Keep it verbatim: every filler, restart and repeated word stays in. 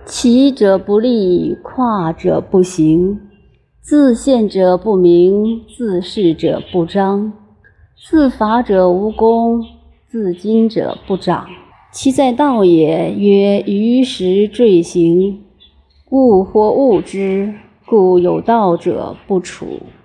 起者不立，跨者不行，自见者不明，自是者不彰，自伐者无功，自矜者不长。其在道也，曰于时坠行，物或物之，故有道者不处。